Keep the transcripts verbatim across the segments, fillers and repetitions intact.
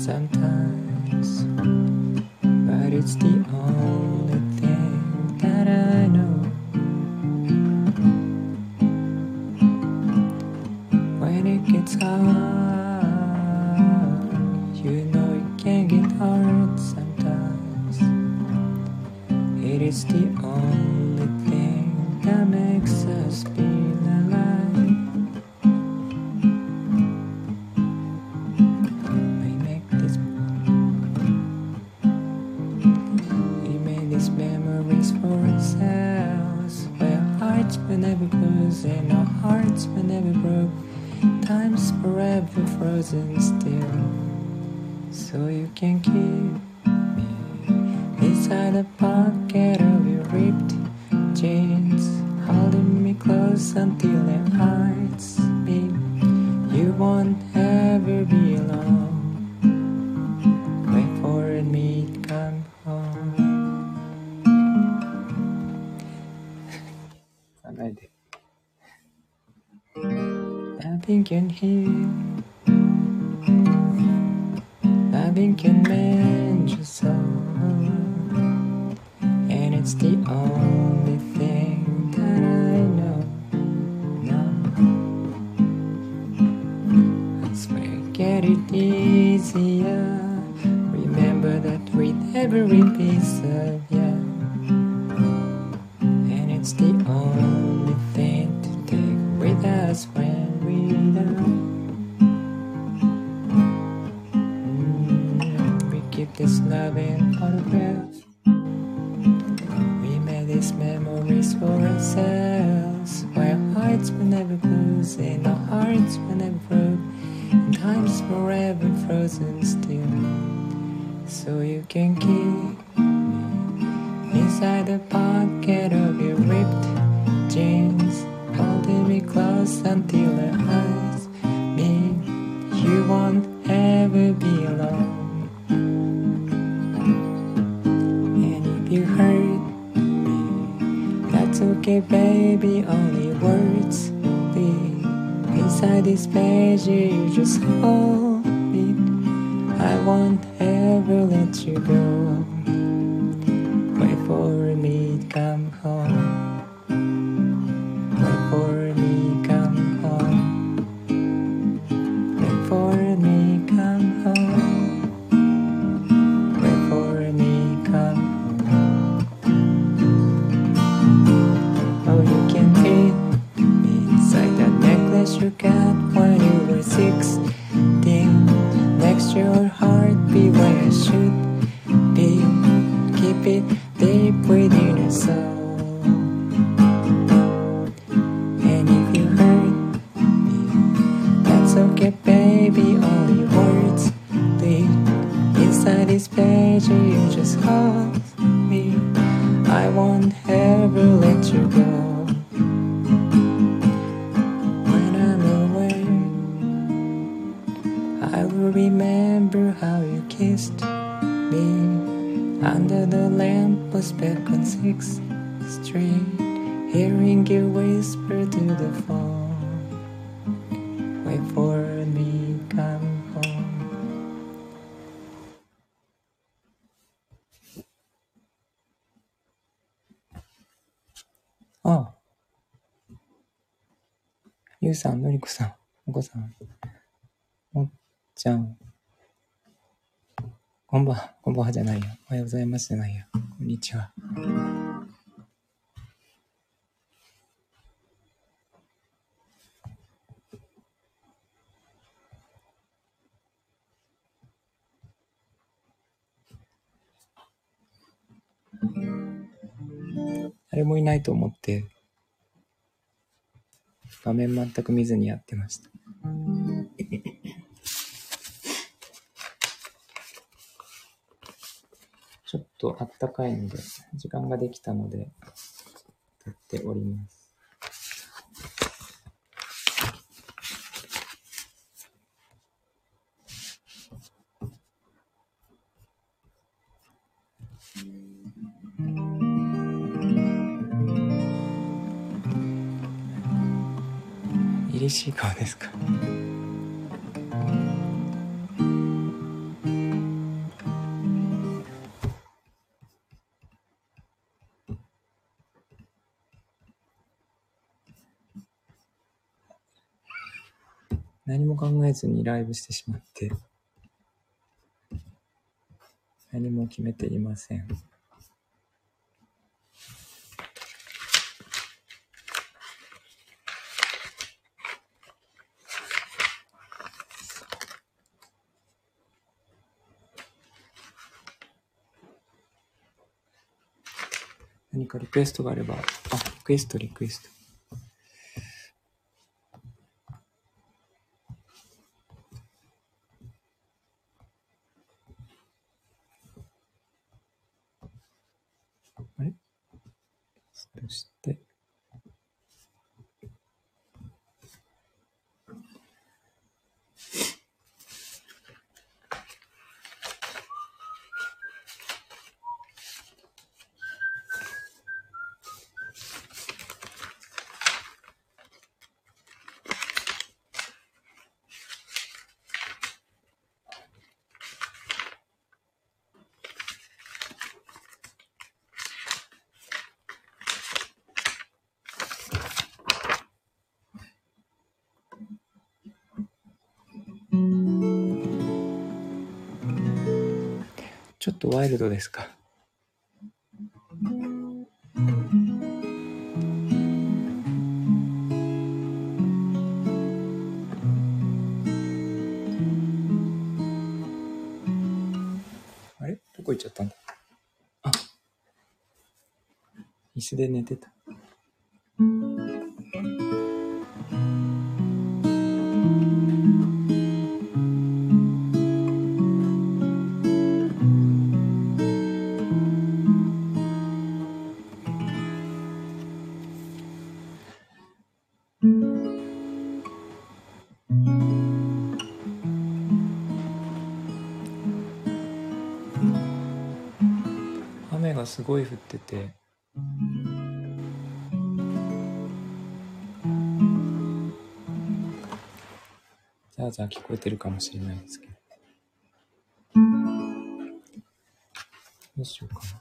sometimes, but it's the only thing that I know. When it gets hard, you know it can get hard sometimes. It is the only thing that makes us feel alive. We make this, we made these memories for ourselves, where hearts were never closed and our hearts were never broke. Time's forever frozen still, so you can keep me inside the pocket of your ripped jeans, holding me close until our hearts meet. You won't ever be alone. Wait for me to come home. 考えて。Nothing can heal, nothing can mend your soul, and it's the only thing that I know. No, I swear, get it easier. Remember that with every piece of you, and it's the only thing to take with us when this loving photograph. We made these memories for ourselves, where hearts were never closed and our hearts were never broke, and time's forever frozen still, so you can keep me inside the pocket of your ripped jeans, holding me close until our eyes meet. You won't ever be alone. You hurt me, that's okay baby, only words leave inside this page. You just hold me, I won't ever let you go. Wait for me to come home. Wait for me to come home. Wait for me to come home. Wait for me to come home. You got when you were sixteen. Next your heart be where it should be. Keep it deep within your soul. And if you hurt me, that's okay baby, only words leave inside this page. You just hold me, I won't ever let you go. Remember how you kissed me under the lamppost back on sixth street, hearing you whisper to the phone. Wait for me, come home. ああ、ゆうさん、のりこさん、お子さん、もっちゃん、こんばんは、こんばんはじゃないよ。おはようございますじゃないよ。こんにちは。誰もいないと思って画面全く見ずにやってました。ちょっとあったかいので時間ができたので撮っております。凛々しい顔ですか。 何も考えずにライブしてしまって、何も決めていません。何かリクエストがあれば、あ、リクエストリクエスト。あれ？そして、ちょっとワイルドですか？あれ？どこ行っちゃったんだ？あ、椅子で寝てた。雨がすごい降ってて、ザーザー聞こえてるかもしれないですけど、どうしようかな。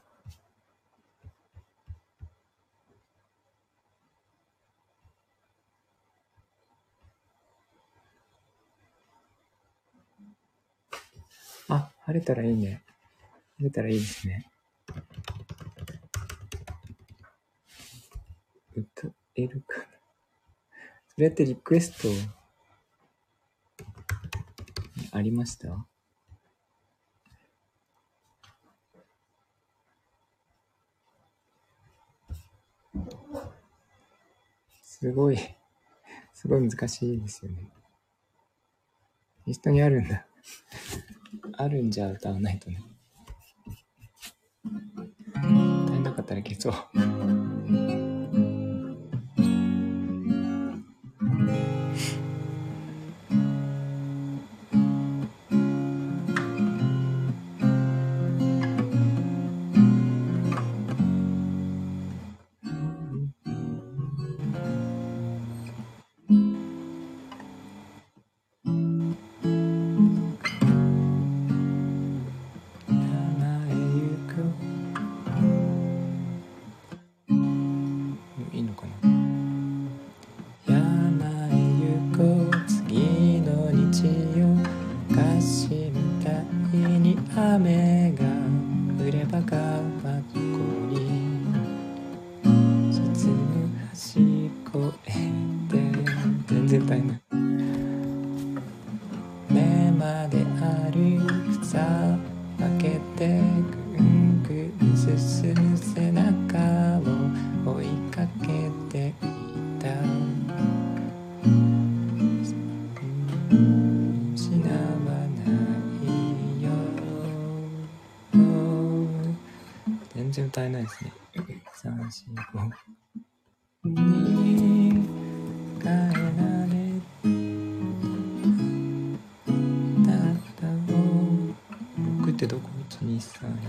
あ、晴れたらいいね。晴れたらいいですね。歌えるかな。それってリクエストありました？すごい、すごい難しいですよね。リストにあるんだ。あるんじゃ歌わないとね。歌えなかったら消そう。いいのかな。山へ行こう次の日曜、昔みたいに雨が降れば川っこに沈む橋越えて、全然歌えない。目まで歩くさ開けてぐんぐん進む背中を追いかけていた。失わないよ。全然歌えないですね。さん、よん、ごに変えられたを僕ってどこ？いち、に、さん、よん、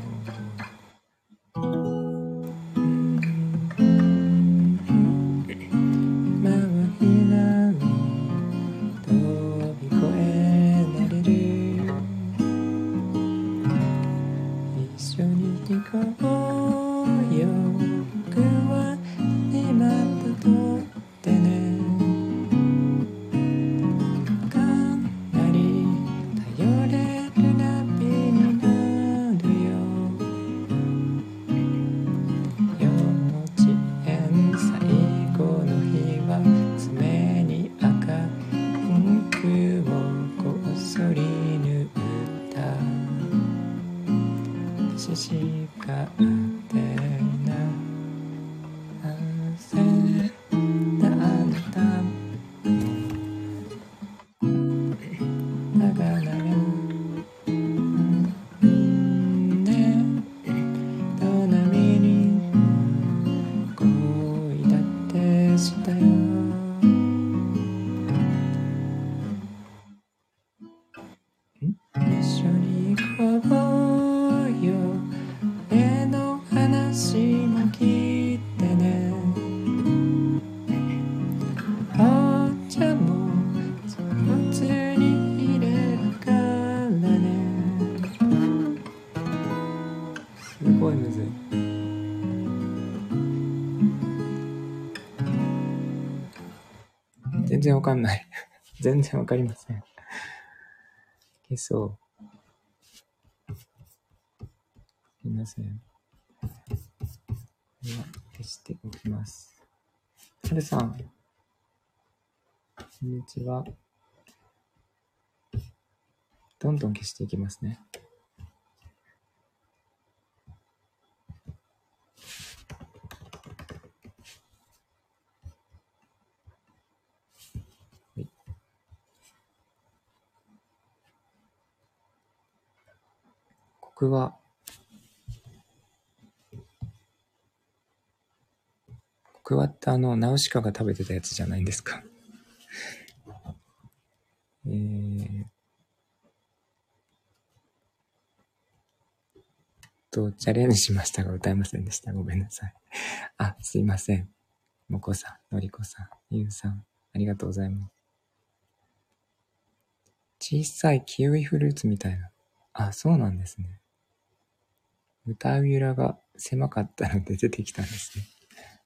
緒に行こうよ。目の話も聞いてね。お茶も上手に入れるからね。すごいむずい。全然わかんない。全然わかりません。消そう。すいません。では消しておきます。はるさん、こんにちは。どんどん消していきますね。はい、こくはこくわってあのナウシカが食べてたやつじゃないんですか。えーとチャレンジしましたが歌えませんでした。ごめんなさい。あ、すいません。もこさん、のりこさん、ゆうさん、ありがとうございます。小さいキウイフルーツみたいな。あ、そうなんですね。歌うゆらが狭かったので出てきたんですね。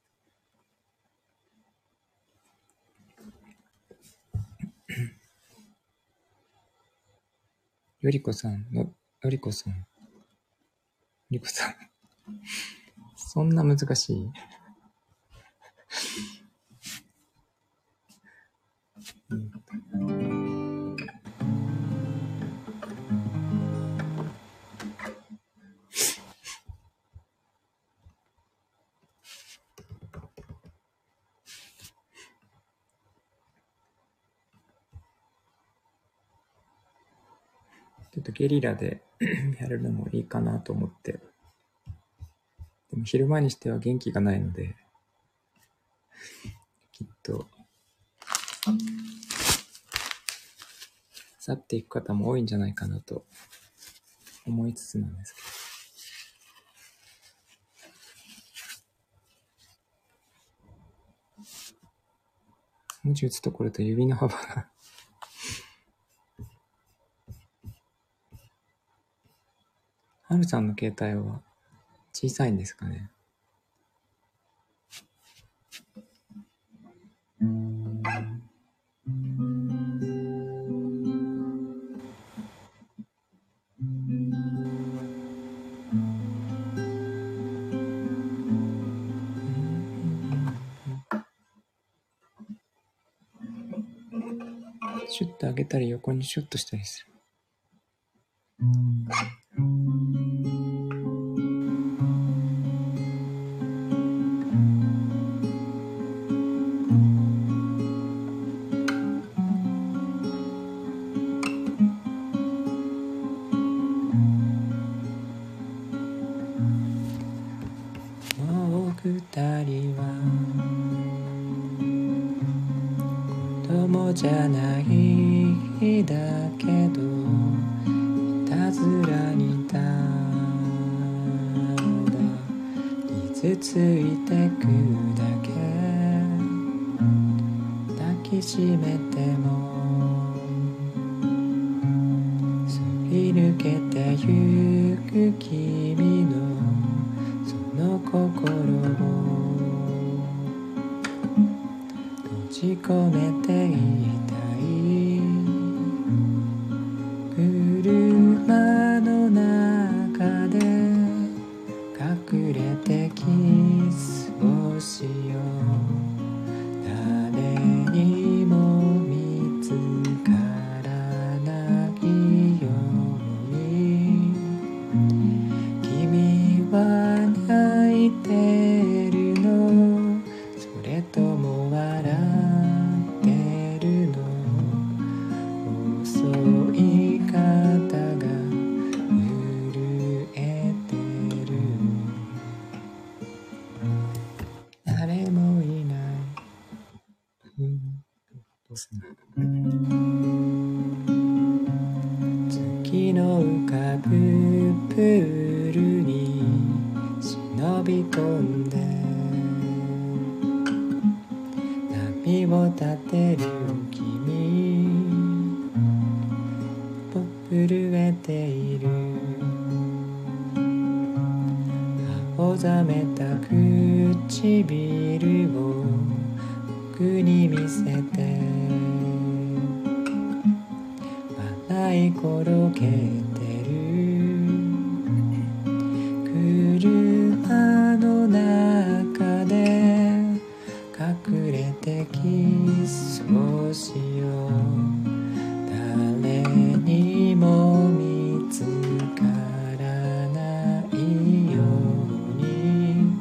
よりこさんの、のりこさん、のりこさん。そんな難しい、うん、ちょっとゲリラでやるのもいいかなと思って。でも昼間にしては元気がないので、きっと去っていく方も多いんじゃないかなと思いつつなんですけど。文字打つところと指の幅がはるさんの携帯は小さいんですかね。シュッと上げたり横にシュッとしたりする。もう二人は子供じゃないだけど、いたずらにただ傷ついてくだけ。抱きしめてもすり抜けてゆく君のその心を閉じ込めていたい。車の中で隠れてキスをしよう。誰にも見つからないように。君は泣いてるの？それとも笑ってるの？遅い肩が震えてる。誰もいない。うん、どうすんの？月のプールに忍び込んで波を立てる君ぽ震えている青ざめた唇を僕に見せて笑い転げてる車の中で隠れてキスをしよう誰にも見つからないように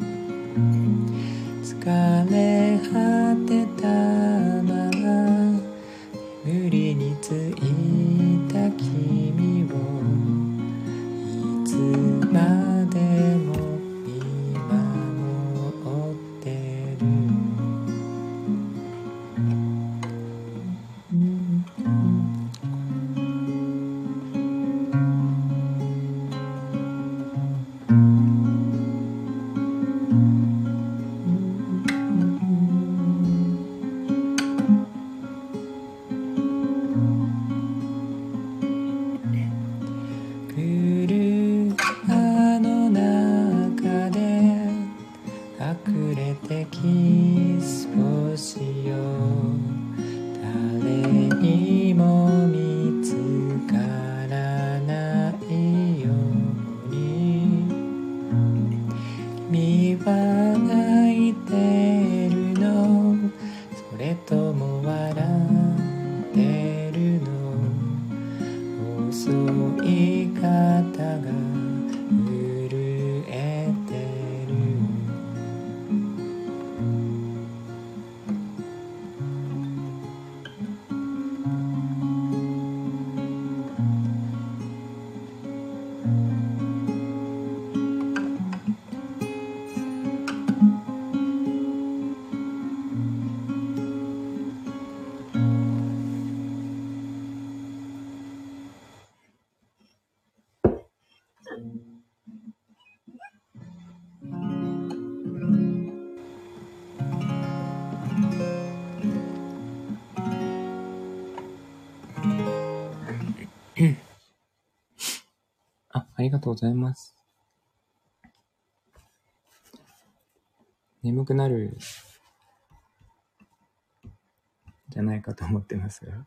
疲れ果てたまま眠りについた君をいつまでも見守ってる、うん車の中で隠れてキスをしよう誰にも見つからないように君は泣いてるのそれとも笑ってるの遅い肩が震えてるあ、ありがとうございます。眠くなるじゃないかと思ってますが。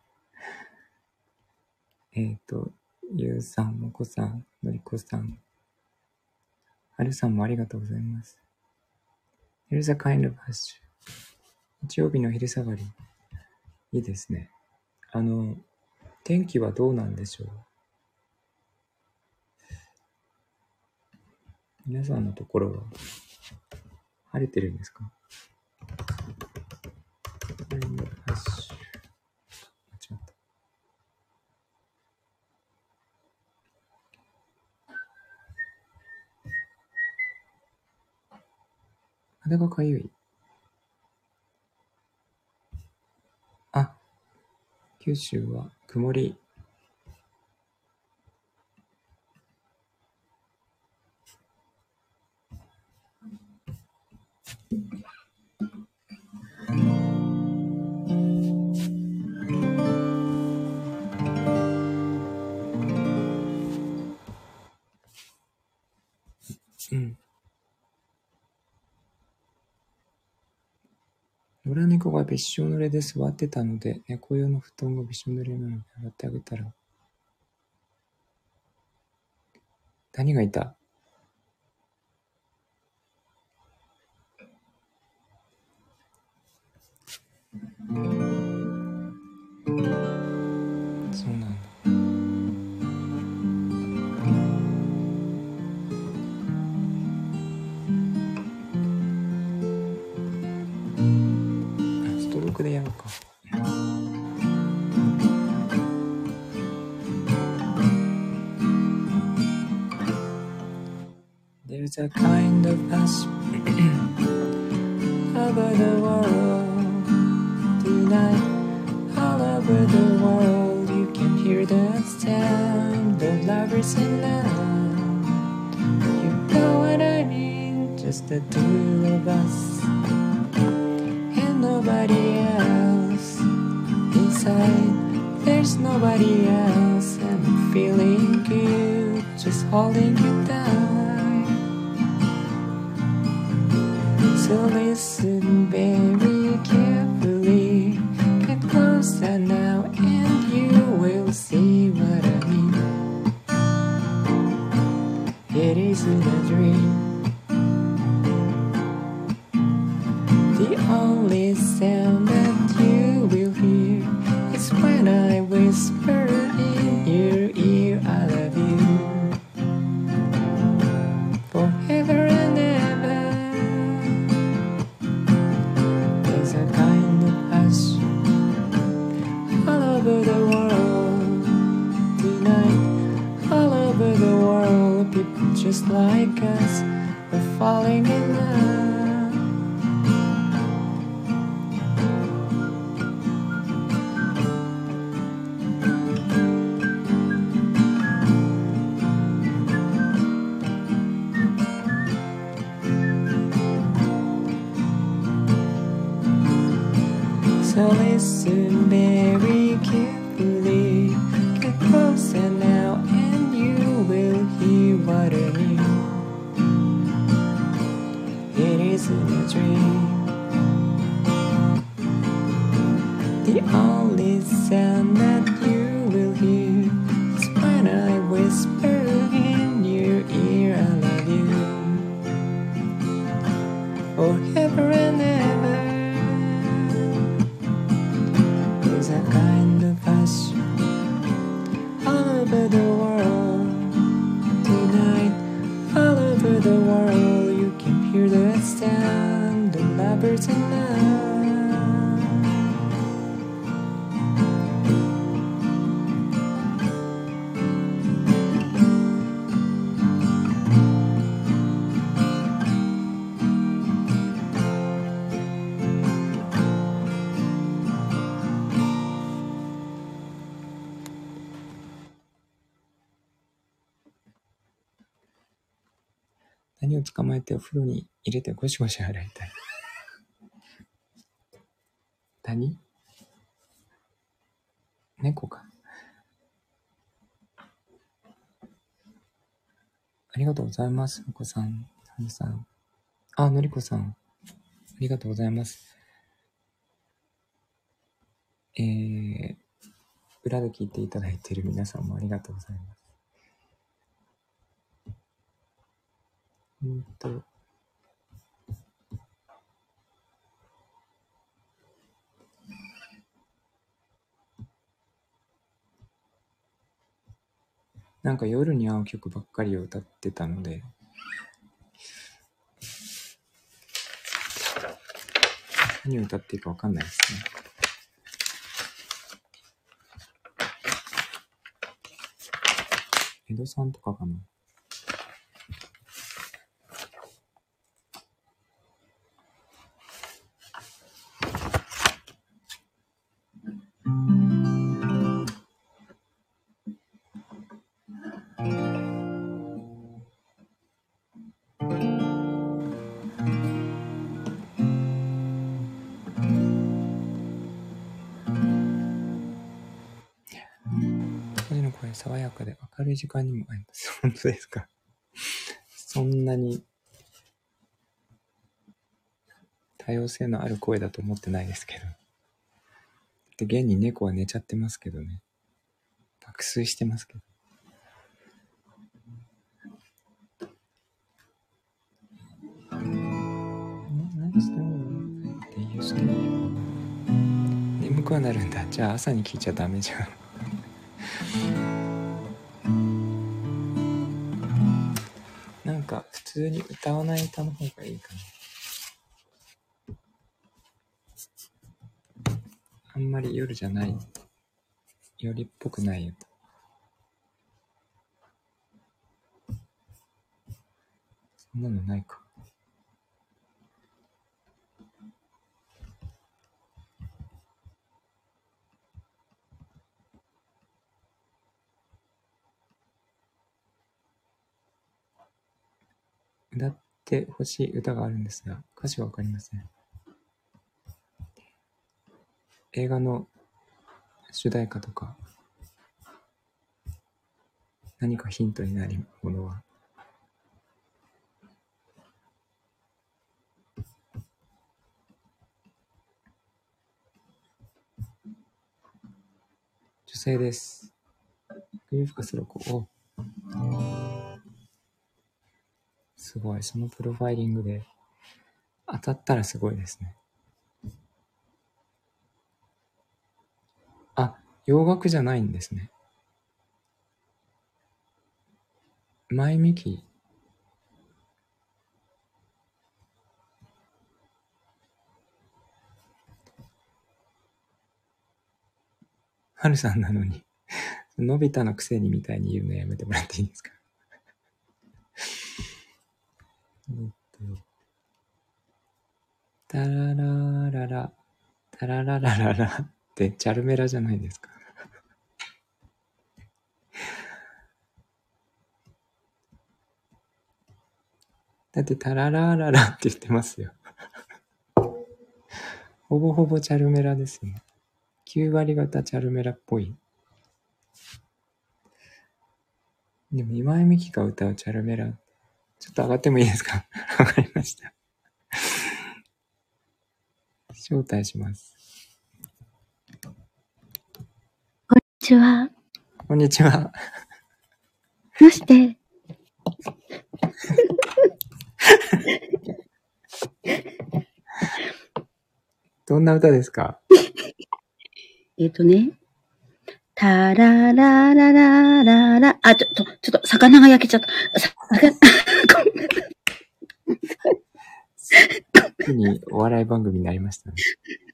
えっと、ゆうさん、もこさん、のりこさん、はるさんもありがとうございます。Here's a kind of hush. 日曜日の昼下がり。いいですね。あの、天気はどうなんでしょう。皆さんのところは晴れてるんですか？間違った。肌がかゆい。あ、九州は曇り。うん。野良猫がびっしょ濡れで座ってたので、猫用の布団がびっしょ濡れなので洗ってあげたら。何がいた？そうなんだ。ストロークでやろうか。There's a kind of hush over the world tonight. All over the world, you can hear the sound of love lovers in love. You know what I mean, just the two of us and nobody else. Inside, there's nobody else. I'm feeling good, just holding you tight. So listen very carefully. Get closer now and you will see what I mean. It isn't a dream. The only sound that you will hear is when I whisper in your ear, I love you forever and ever. There's a kind of hush all over the world tonight. All over the world, people just like us are falling in love. So listen very carefully. Get closer now and you will hear what I mean. It isn't a dream. The only sound that you will hear is when I whisper in your ear, I love you forever and ever. There's a kind of hush all over the world tonight. All over the world, you can hear the sound of lovers in love.何を捕まえてお風呂に入れてゴシゴシ洗いたい。何？猫か。ありがとうございます。お子さん、はるさん。あ、のりこさん。ありがとうございます。えー、裏で聞いていただいている皆さんもありがとうございます。うんと、なんか夜に合う曲ばっかりを歌ってたので、何を歌っていいかわかんないですね。江戸さんとかかな。声の声爽やかで明るい時間にも合います。本当ですか？そんなに多様性のある声だと思ってないですけど。で、現に猫は寝ちゃってますけどね。爆睡してますけど。何してんのって言う人眠くはなるんだ。じゃあ朝に聞いちゃダメじゃん。なんか普通に歌わない歌の方がいいかな。あんまり夜じゃない、夜っぽくないよ。そんなのないか。 てほしい歌があるんですが、歌詞はわかりません。映画の主題歌とか、何かヒントになるものは。女性です。冬深すろ子。お、すごい。そのプロファイリングで当たったらすごいですね。あ、洋楽じゃないんですね。前ミキ。はるさんなのにのび太のくせにみたいに言うのやめてもらっていいですか。えっとタララララタラララララってチャルメラじゃないですか。だってタララララって言ってますよ。ほぼほぼチャルメラですよね。きゅう割方チャルメラっぽい。でも今井美樹が歌うチャルメラ、ちょっと上がってもいいですか。わかりました。招待します。 こんにちは。 こんにちは。 どうしてどんな歌ですか。 えっとね。タララララララ。あ、ちょっと、ちょっと、魚が焼けちゃった。魚ついにお笑い番組になりましたね。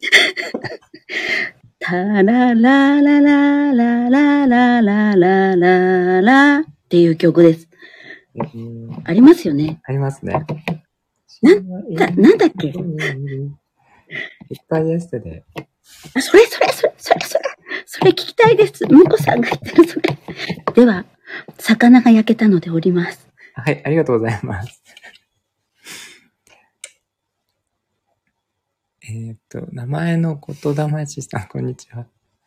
タラララララララララララっていう曲です。 えー、 ありますよね。 ありますね。 なんだ、なんだっけ。 いっぱいエステで。 あ、それそれそれそれそれそれ聞きたいです。むこさんが言ってるそれ。では、魚が焼けたので降ります。 はい、ありがとうございます。えっと、名前の言霊師さん、こんにちは。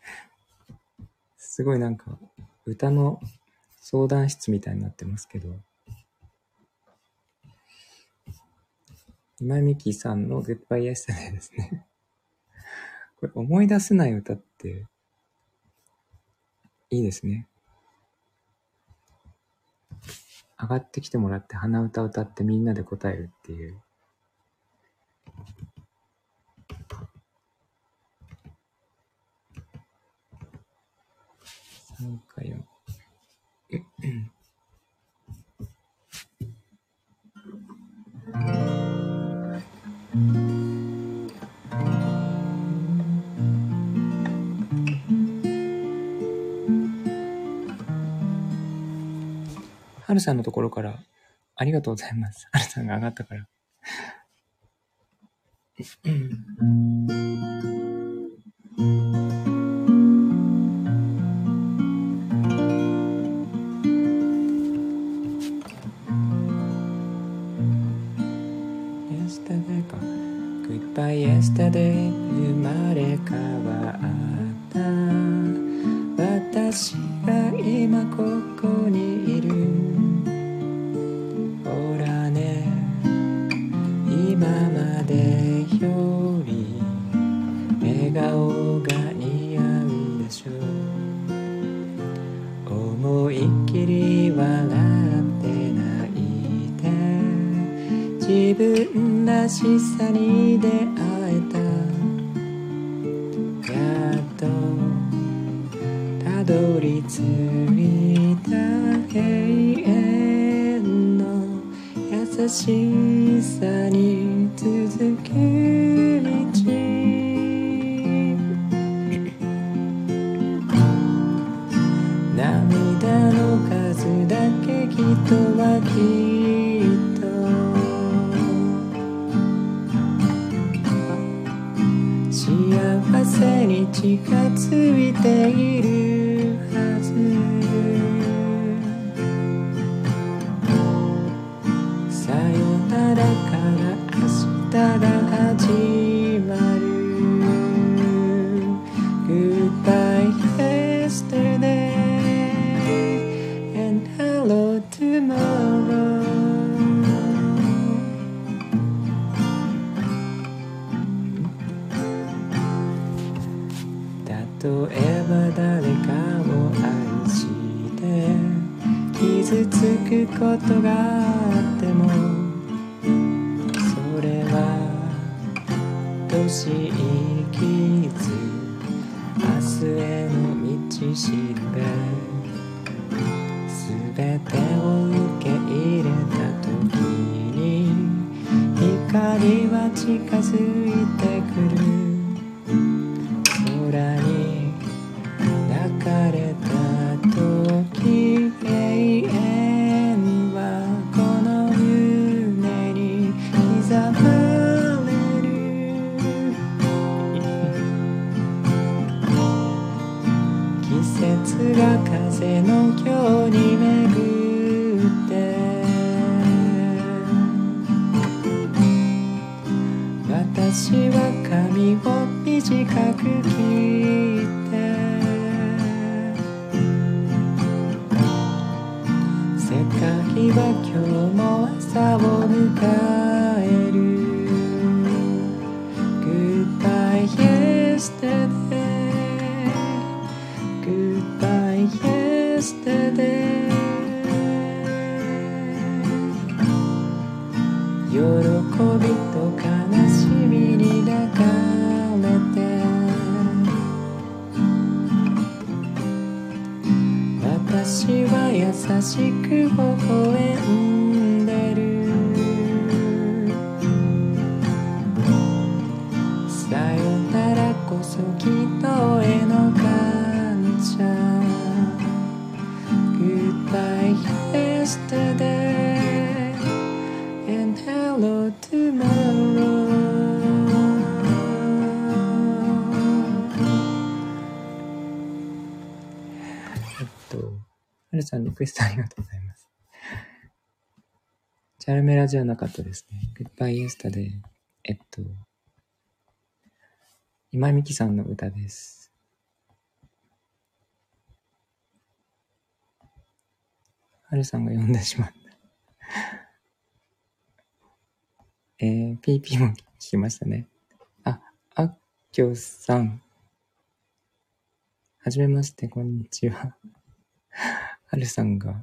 すごいなんか、歌の相談室みたいになってますけど、今井美樹さんのグッバイエステデイですね。これ思い出せない歌っていいですね。上がってきてもらって鼻歌歌ってみんなで答えるっていう。さんかよん。はるさんのところからありがとうございます。はるさんが上がったから。Yesterday か。Goodbye yesterday 生まれ変わった私が今ここにいる。ほらね、今までより笑顔が似合うでしょう。思いっきり笑って泣いて自分らしさに出会えた。やっとたどり着いた永遠の優しさに続く道。涙の数だけ人はきっと幸せに近づいているはず。さよな傷つくことがあってもそれは年生きず明日への道しるべすべてを受け入れた時に光は近づいてくる空に抱かれた時永遠はこの胸に刻まれる季節が風のように巡って私は髪を短く切って世界は今日も朝を迎える Goodbye yesterday Goodbye yesterday 喜びと悲しみに抱かれて私は優しく微笑んでるさよならこそきっとへの感謝 Goodbye yesterday and hello tomorrow えっとはるさんリクエストありがとうございます。チャルメラじゃなかったですね。Goodbye Yesterday。えっと、今井美樹さんの歌です。はるさんが読んでしまった。えー、ピーピー も聞きましたね。あ、あっきょさん。はじめまして、こんにちは。はるさんが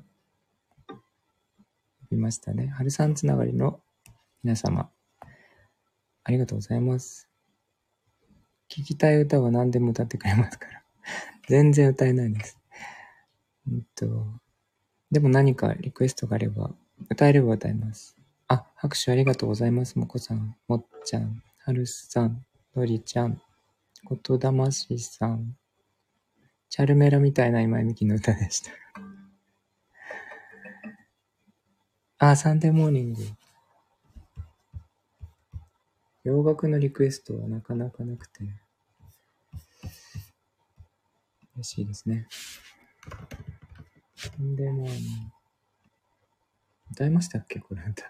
いましたね。はるさんつながりの皆様、ありがとうございます。聞きたい歌は何でも歌ってくれますから。全然歌えないです。うんと、でも何かリクエストがあれば、歌えれば歌います。あ、拍手ありがとうございます。もこさん、もっちゃん、はるさん、のりちゃん、ことだましさん、チャルメラみたいな今井美樹の歌でした。あ、サンデーモーニング。洋楽のリクエストはなかなかなくて嬉しいですね。サンデーモーニング歌いましたっけこれ歌。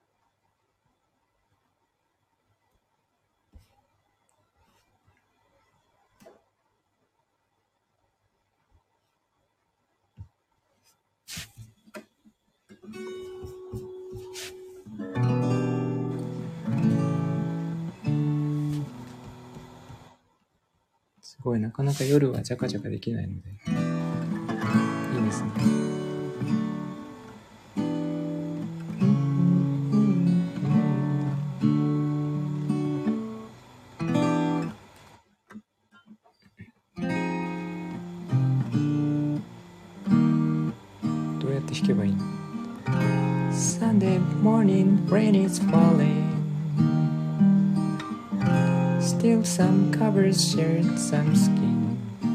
すごいなかなか夜はジャカジャカできないのでいいですね。どうやって弾けばいいの？ Sunday morning rain is falling Still some covers shared some skin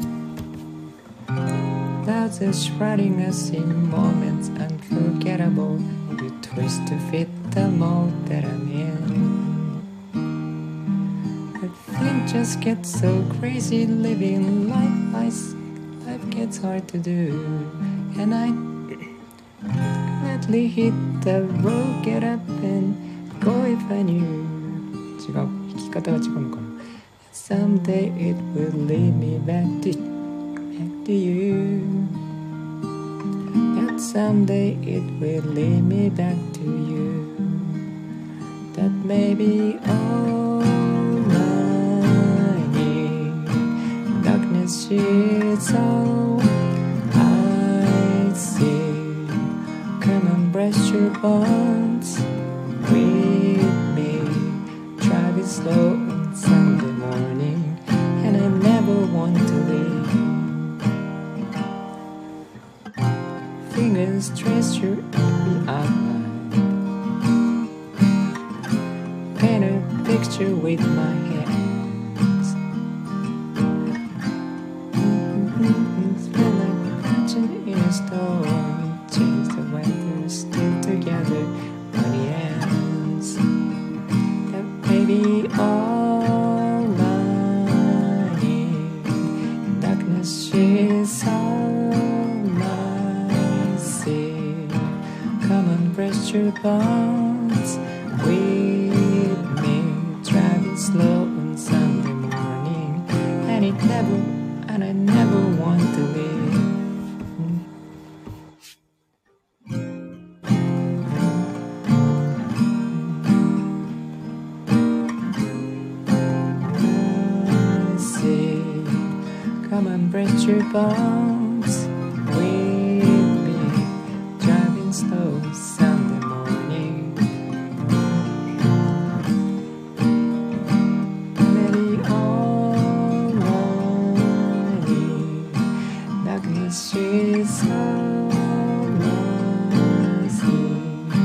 Clouds are shrouding us in moments unforgettable You twist to fit the mold that I'm in I think just gets so crazy living life life, life gets hard to do And I gladly hit the road Get up and go if I knew 違う弾き方が違うのかなSomeday it will lead me back to, back to you That someday it will lead me back to you That may be all I need Darkness is all I see bonds with me. Driving slow on Sunday morning, and I never want to leave. Fingers trace your every outline, paint a picture with my hands. Feel like watching in a storm, change the weather, still together by the ends. That may be all I need. Darkness is all I see. Come and press your bones with me. Driving slow on Sunday morning, and it never, and I never want to leave. I see. Come and press your bones with me. Driving slow Sunday morning. Maybe all lonely. Darkness is all I see.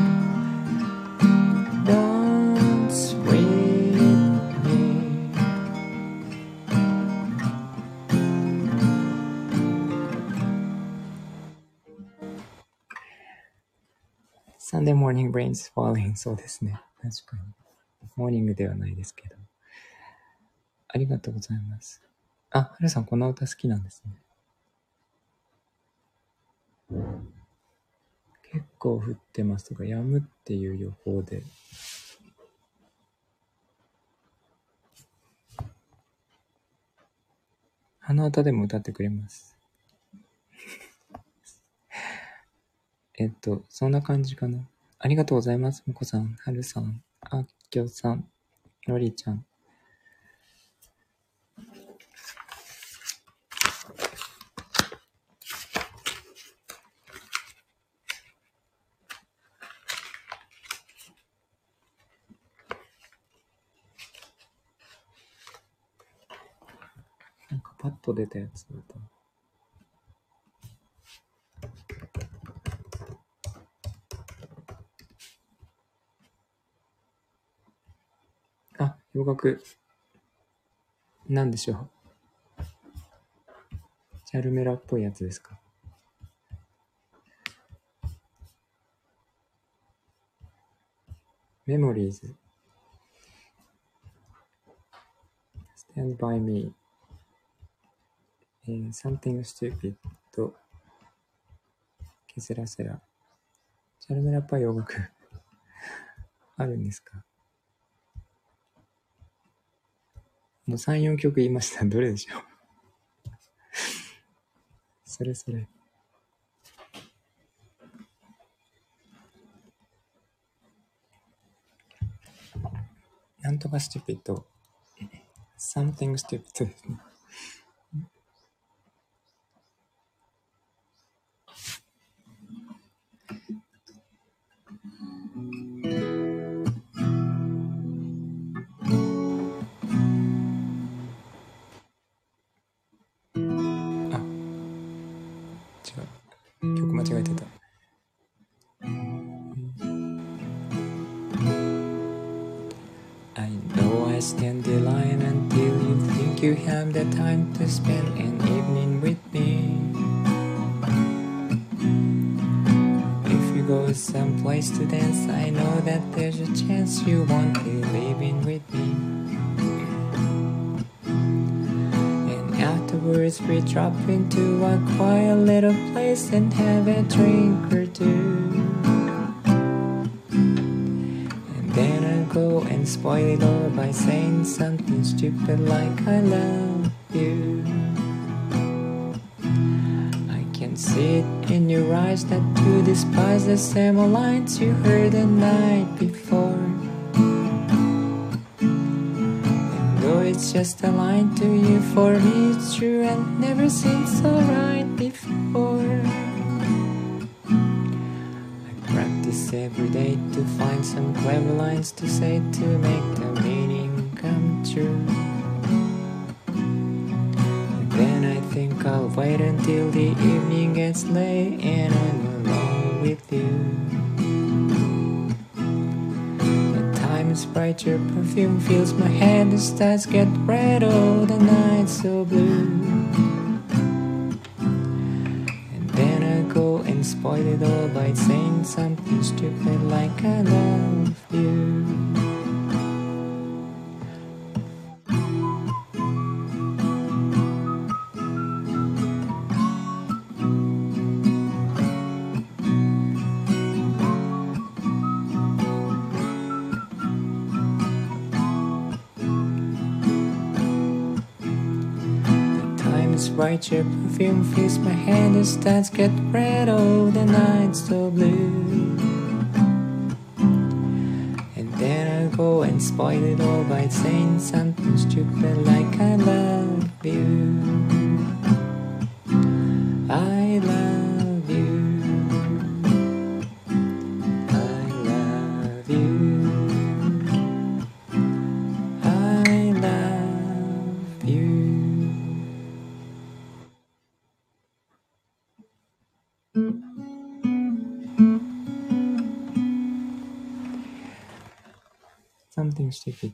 Dance with me. Sunday morning rains falling. そうですね。確かに。モーニングではないですけど。ありがとうございます。あ、はるさんこの歌好きなんですね。結構降ってますが、止むっていう予報で。鼻歌でも歌ってくれます。えっと、そんな感じかな。ありがとうございます。もこさん、はるさん、あっきょさん、ロリちゃん。なんかパッと出たやつだった。あ、洋楽。なんでしょう。チャルメラっぽいやつですか。メモリーズ。Stand by me. えー、Something stupid とケセラセラ。チャルメラっぽい洋楽あるんですか。もうさん、よんきょく言いました。どれでしょう。それそれ。なんとか stupid。something stupid ですね。曲間違えてた。I know I stand the line until you think you have the time to spend an evening with me. If you go someplace to dance, I know that there's a chance you won't be living with me. Afterwards we drop into a quiet little place and have a drink or two. And then I'll go and spoil it all by saying something stupid like I love you. I can see it in your eyes that you despise the same lines you heard the night before.It's just a line to you. For me it's true and never seemed so right before. I practice tries every day to find some clever lines to say to make the meaning come true. And then I think I'll wait until the evening gets late and I'm alone with you. At times bright your perfume fills my head, the stars get red, oh the night's so blue. Then I go and spoil it all by saying something stupid like I love you. Bright your perfume fills my hand, the stars get red, oh the night's so blue. And then I go and spoil it all by saying something stupid like I love you. I love you. I love you. I love you. Something stupid.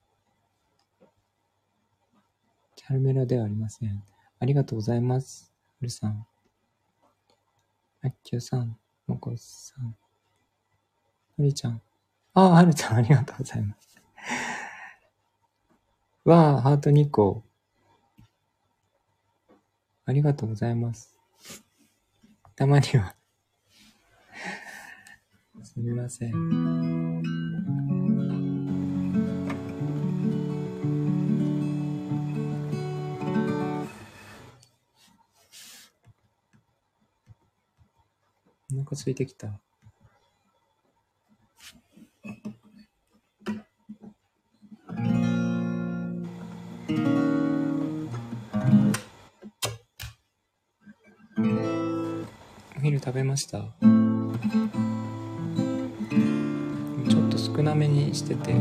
チャルメラではありません。ありがとうございます。はるさん。あっきゅうさん。もこさん。はるちゃん。ああ、はるちゃんありがとうございます。わあ、ハートにこ。ありがとうございます。たまには。すみません。お腹空いてきた。お昼食べました。ちょっと少なめにしてて。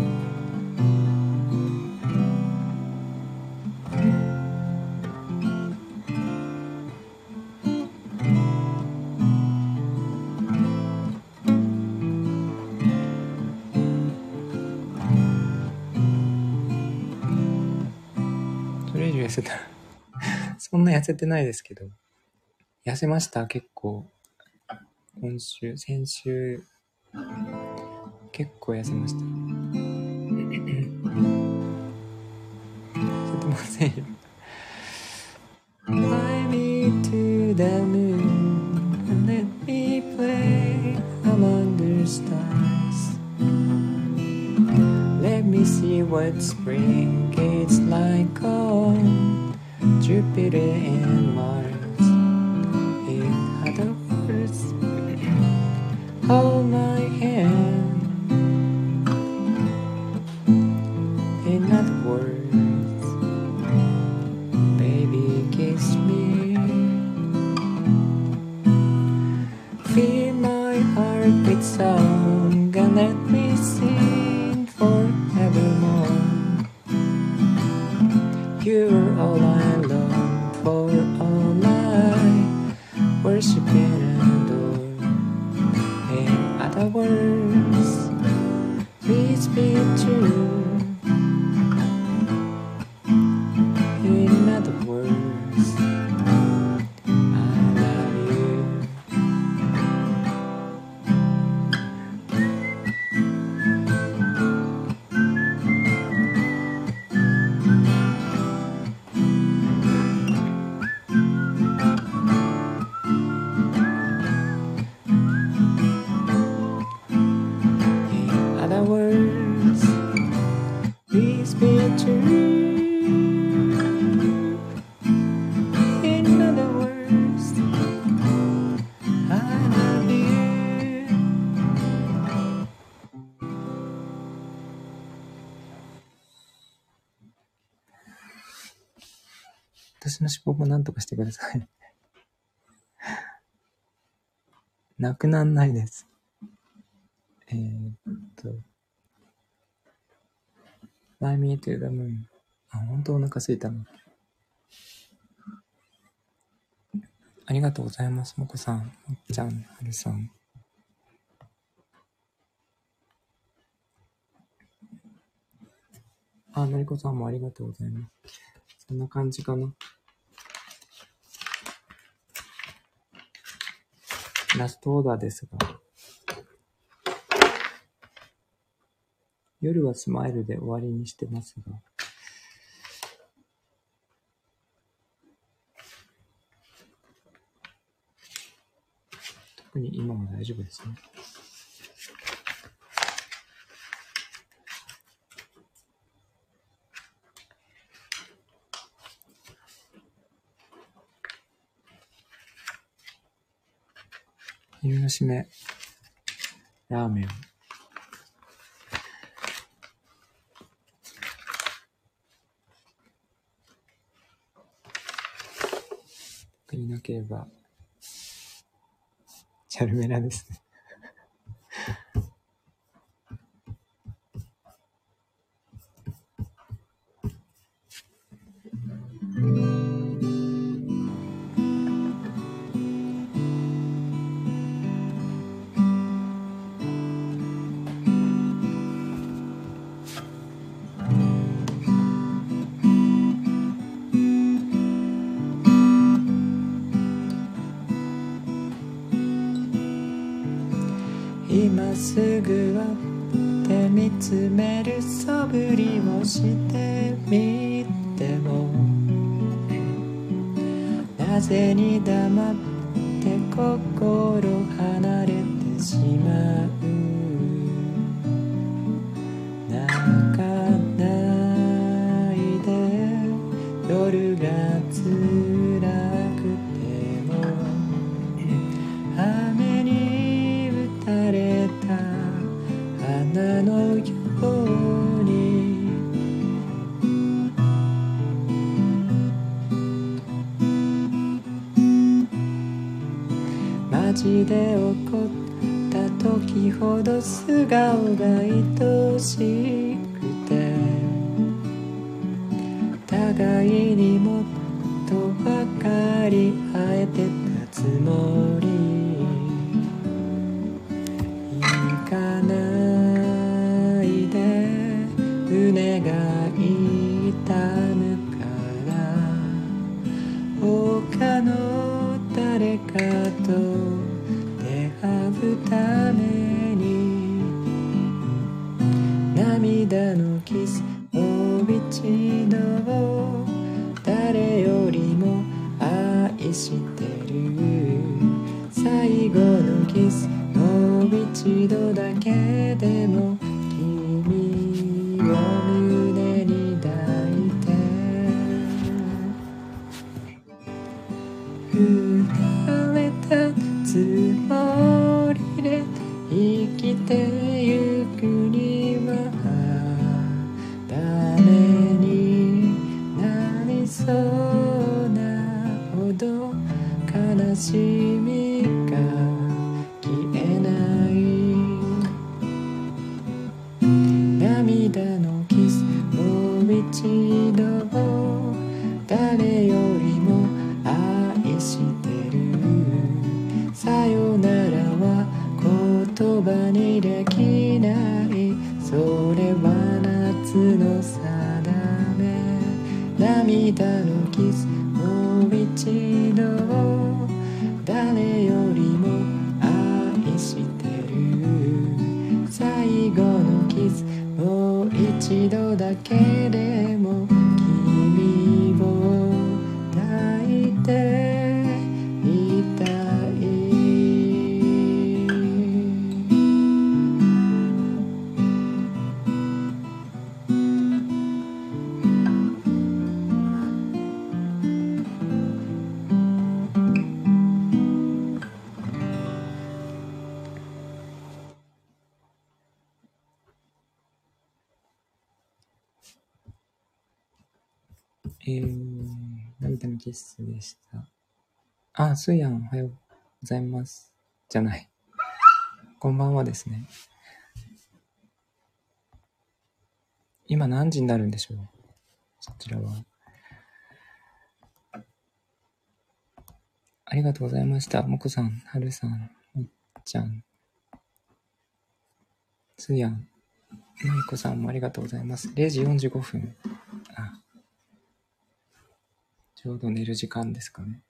痩せたそんな痩せてないですけど、痩せました。結構今週先週結構痩せました。痩せてませんよ。 Fly me to the moon and let me play among the stars. Let me see what spring is like on Jupiter and Mars. In other words, hold my hand. In other words, baby kiss me. Fill my heart with song and let me sing forevermore. You're all I long for, all I worship and adore. In other words, please be true. In other words, I love you. In other words, please be true. In other words, I love you. 私の脂肪もなんとかしてください。なくなんないです。 えー、っと、Fly me to the moon。あ、本当お腹すいたの。ありがとうございます。もこさん、もっちゃん、はるさん。あ、のりこさんもありがとうございます。そんな感じかな。ラストオーダーですが、夜はスマイルで終わりにしてますが、特に今は大丈夫ですね。昼の締め、ラーメン。特になければ、チャルメラですね。今すぐはって見つめる素振りをしてみても、なぜに黙って心離れてしまう。泣かないで、夜が辛くても雨に打たれた花のように、街で起こった時ほど素顔が愛しくて、互いにもっと分かり合えてたつもり。行かないで、胸が痛むから他の誰かと出会うために、涙のキスもう一度誰よりも愛してる。最後のキスもう一度だけでも君を胸に抱いて、振られたつもりで生きてゆくには誰になりそうなほど悲しみが消えない。涙のキスもう一度誰よりも愛してる。さよならは言葉にできない、それは夏の定め。涙のキスもう一度誰よりも愛してる。最後のキスもう一度だけでも君を抱いていたい。えー、涙のキスでした。あ、スーヤンおはようございます。じゃない。こんばんはですね。 今何時になるんでしょう、そちらは。ありがとうございました。もこさん、はるさん、もっちゃん、つやん、まいこさんもありがとうございます。れいじよんじゅうごふん。あ、ちょうど寝る時間ですかね。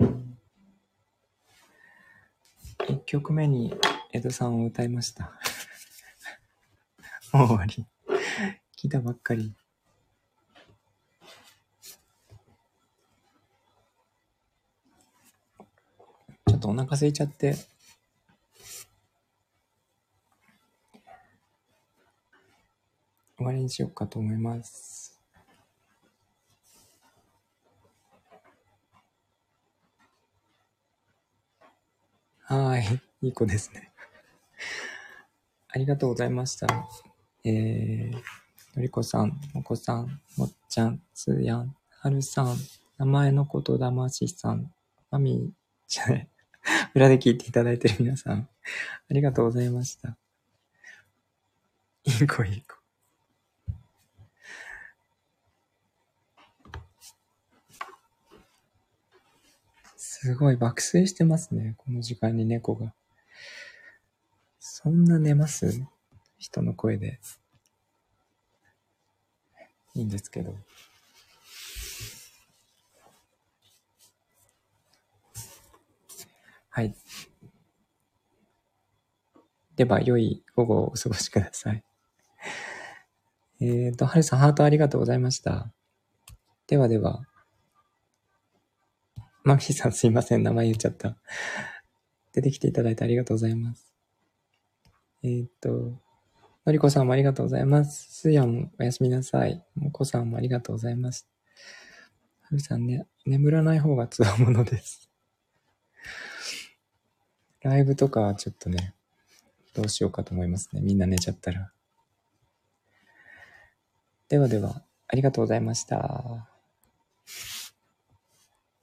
いっきょくめに江戸さんを歌いました。もう終わり。来たばっかり。ちょっとお腹空いちゃって、終わりにしようかと思います。はーい。いい子ですね。ありがとうございました。えー、のりこさん、もこさん、もっちゃん、つーやん、はるさん、名前のことだましさん、まみじゃない、裏で聞いていただいている皆さん、ありがとうございました。いい子いい子。すごい爆睡してますね、この時間に猫が。そんな寝ます？人の声で。いいんですけど。はい。では、良い午後をお過ごしください。えーと、はるさん、ハートありがとうございました。ではでは、マミーさんすいません、名前言っちゃった。出てきていただいてありがとうございます。えーと、のりこさんもありがとうございます。すやもおやすみなさい。もこさんもありがとうございます。はるさんね、眠らない方がつわものです。ライブとかはちょっとね、どうしようかと思いますね。みんな寝ちゃったら。ではでは、ありがとうございました。